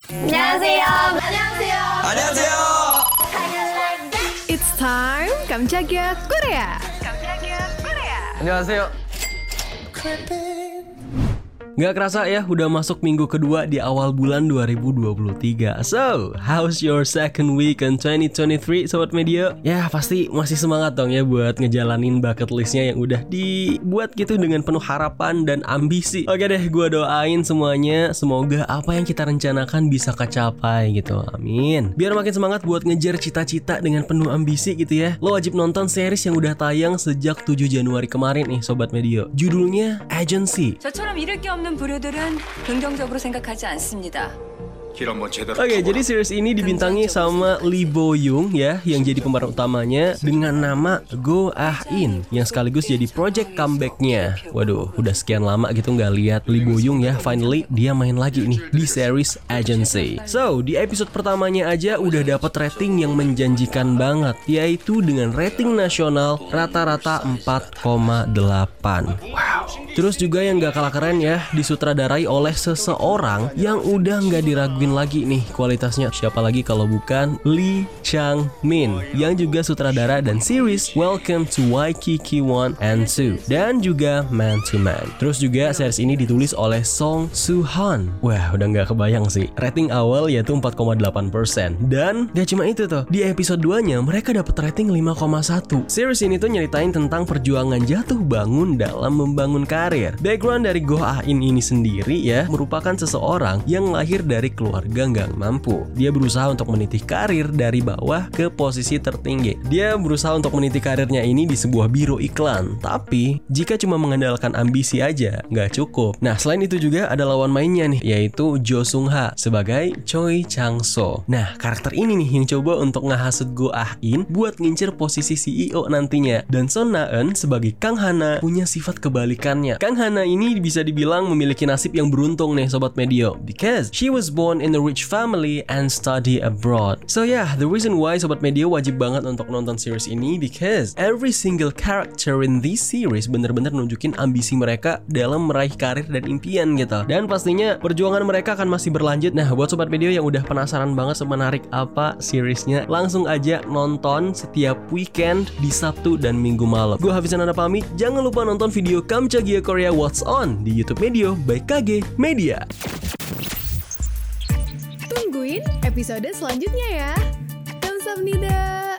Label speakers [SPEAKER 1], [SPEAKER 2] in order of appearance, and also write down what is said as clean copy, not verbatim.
[SPEAKER 1] 안녕하세요. 안녕하세요.
[SPEAKER 2] 안녕하세요.
[SPEAKER 3] It's time 깜짝이야 Korea.
[SPEAKER 2] 안녕하세요.
[SPEAKER 4] Gak kerasa ya, udah masuk minggu kedua di awal bulan 2023. So, how's your second week in 2023, Sobat Media? Ya, pasti masih semangat dong ya buat ngejalanin bucket listnya yang udah dibuat gitu dengan penuh harapan dan ambisi. Oke deh, gue doain semuanya, semoga apa yang kita rencanakan bisa kecapai gitu. Amin. Biar makin semangat buat ngejar cita-cita dengan penuh ambisi gitu ya. Lo wajib nonton series yang udah tayang sejak 7 Januari kemarin nih, Sobat Media. Judulnya Agency.
[SPEAKER 5] 저처럼 잃을 게 없는 부류들은 긍정적으로 생각하지 않습니다.
[SPEAKER 4] Oke, jadi series ini dibintangi sama Lee Bo Young ya, yang jadi pemeran utamanya dengan nama Go Ah In, yang sekaligus jadi project comebacknya. Waduh, udah sekian lama gitu nggak lihat Lee Bo Young ya, finally dia main lagi nih di series Agency. So, di episode pertamanya aja udah dapat rating yang menjanjikan banget, yaitu dengan rating nasional rata-rata 4,8. Wow. Terus juga yang gak kalah keren ya, disutradarai oleh seseorang yang udah gak diraguin lagi nih kualitasnya. Siapa lagi kalau bukan Lee Chang-min, yang juga sutradara dan series Welcome to Waikiki 1 and 2 dan juga Man to Man. Terus juga series ini ditulis oleh Song Soo-han. Wah, udah gak kebayang sih. Rating awal yaitu 4,8%. Dan gak cuma itu tuh, di episode 2-nya mereka dapat rating 5,1. Series ini tuh nyeritain tentang perjuangan jatuh bangun dalam membangun karir. Background dari Go Ah In ini sendiri ya, merupakan seseorang yang lahir dari keluarga nggak mampu. Dia berusaha untuk meniti karir dari bawah ke posisi tertinggi. Dia berusaha untuk meniti karirnya ini di sebuah biro iklan. Tapi jika cuma mengandalkan ambisi aja nggak cukup. Nah, selain itu juga ada lawan mainnya nih, yaitu Jo Sung Ha sebagai Choi Chang So. Nah, karakter ini nih yang coba untuk ngehasut Go Ah In buat ngincer posisi CEO nantinya. Dan Son Na Eun sebagai Kang Hana punya sifat kebalikannya. Kang Hana ini bisa dibilang memiliki nasib yang beruntung nih, Sobat Medio, because she was born in a rich family and study abroad. So yeah, the reason why Sobat Medio wajib banget untuk nonton series ini because every single character in this series bener-bener nunjukin ambisi mereka dalam meraih karir dan impian gitu. Dan pastinya perjuangan mereka akan masih berlanjut. Nah, buat Sobat Medio yang udah penasaran banget semenarik apa seriesnya, langsung aja nonton setiap weekend di Sabtu dan Minggu malam. Gue Hafizan Anda pamit, jangan lupa nonton video Kamchagia Korea What's On di YouTube Medio by KG Media.
[SPEAKER 3] Tungguin episode selanjutnya ya. Kamsahamnida.